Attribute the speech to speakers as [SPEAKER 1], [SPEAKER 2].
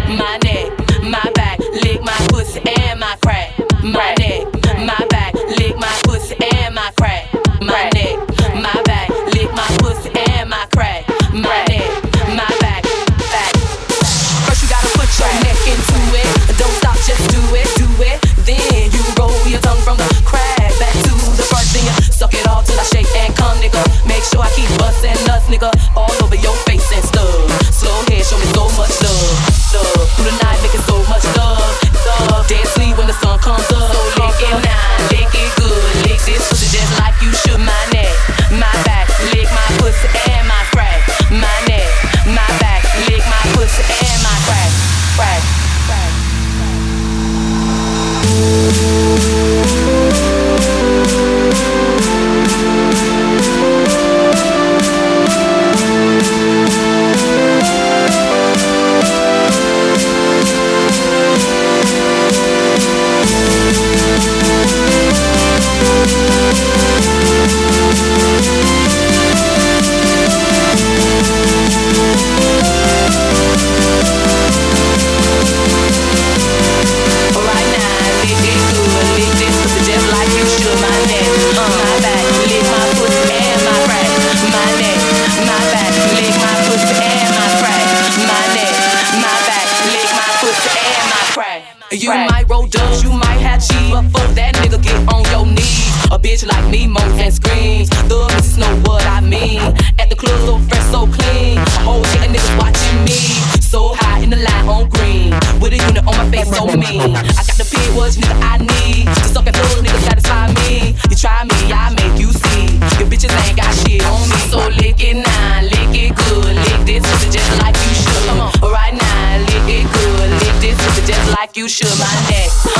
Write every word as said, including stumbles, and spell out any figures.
[SPEAKER 1] my neck, my back, lick my pussy and my crack. My neck, my back, lick my pussy and my crack. My neck, my back, lick my pussy and my crack. My neck, my back, back. First you gotta put your neck into it. Don't stop, just do it, do it. Then you roll your tongue from the crack back to the front. Then you suck it all till I shake and come, nigga. Make sure I keep bustin' nuts, nigga, all over your face and stuff. Slow head, show me so much love, love. Through the night, making so much love, love. Dance sleep when the sun comes up. So lick it now, lick it good. Lick this pussy just like you should. My neck, my back, lick my pussy and my crack. My neck, my back, lick my pussy and my crack, crack, crack. You might roll dubs, you might have cheese, but fuck that nigga, get on your knees. A bitch like me moans and screams. The missus know what I mean. At the club, so fresh, so clean. A whole shit of niggas watching me. So high in the line on green, with a unit on my face, so mean. I got the pig, what nigga I need to suck and pull, nigga satisfy me. You try me, I make you see. Your bitches ain't got shit on me. So lick it now, lick it good. Lick this pussy just like you should. Come on, right now, lick it good. Lick this pussy just like you should. My neck.